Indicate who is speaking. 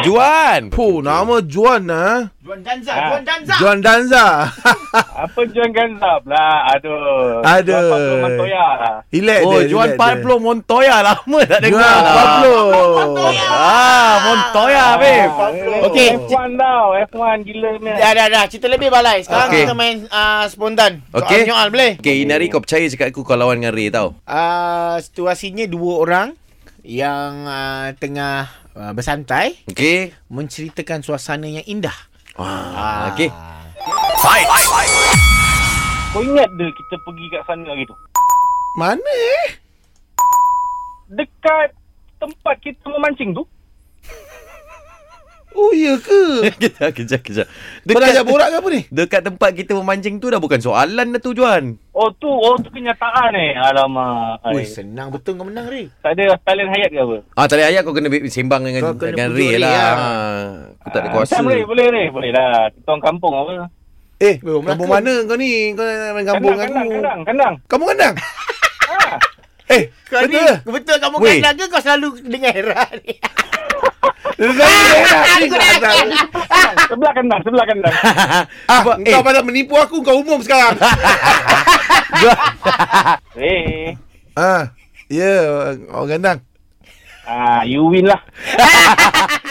Speaker 1: Juan.
Speaker 2: Nama Juan
Speaker 3: Juan Danza.
Speaker 2: Juan Danza.
Speaker 4: Apa Juan Ganzab lah? Aduh.
Speaker 2: Aduh.
Speaker 4: Montoya.
Speaker 2: Relax
Speaker 1: Oh,
Speaker 2: dia,
Speaker 1: Juan
Speaker 2: relax
Speaker 1: Pablo Montoya. Lama tak dengar
Speaker 2: Juan
Speaker 1: lah.
Speaker 2: Pablo.
Speaker 1: Montoya, babe.
Speaker 3: Okey.
Speaker 4: F1 tau. F1 gila ni.
Speaker 3: Dah. Cerita lebih balai. Sekarang
Speaker 1: Okey.
Speaker 3: kita main spontan.
Speaker 1: Okey.
Speaker 3: Soal-nyoal boleh?
Speaker 1: Okay, Inari, kau percaya cakap aku kau lawan dengan Ray tau.
Speaker 3: Situasinya dua orang yang tengah bersantai
Speaker 1: Okay.
Speaker 3: menceritakan suasana yang indah.
Speaker 1: Okay.
Speaker 4: Kau ingat dia kita pergi kat sana hari tu?
Speaker 2: Mana
Speaker 4: Dekat tempat kita memancing tu.
Speaker 2: Oh iya ke?
Speaker 1: Kejap.
Speaker 2: Kau dah ajak borak ke apa ni?
Speaker 1: Dekat tempat kita memancing tu dah bukan soalan dah tu, Juan.
Speaker 4: Oh tu kenyataan Alamak.
Speaker 3: Ui, senang betul kau menang, Ray.
Speaker 4: Tak ada talent hayat ke apa?
Speaker 1: Tadi ayat kau kena sembang dengan
Speaker 3: Kau kena pujuk
Speaker 1: Ray
Speaker 3: Ray
Speaker 1: lah.
Speaker 3: lah.
Speaker 1: Aku tak ada kuasa.
Speaker 4: Boleh lah. Kita orang kampung apa?
Speaker 2: Kampung mana kau ni? Kau nak main kampung aku.
Speaker 4: Kandang.
Speaker 2: Kamu kandang?
Speaker 3: Kau ni betul kamu
Speaker 1: Weh.
Speaker 3: kandang ke kau selalu dengar Era ni?
Speaker 4: Sebelah kandang.
Speaker 2: Kau pasal menipu aku, kau umum sekarang.
Speaker 4: Eh.
Speaker 2: Ya, orang kandang.
Speaker 4: You win lah.